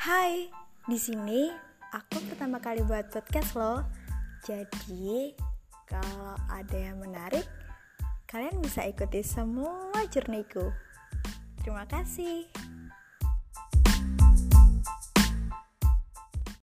Hai, di sini aku pertama kali buat podcast loh. Jadi, kalau ada yang menarik, kalian bisa ikuti semua journey-ku. Terima kasih.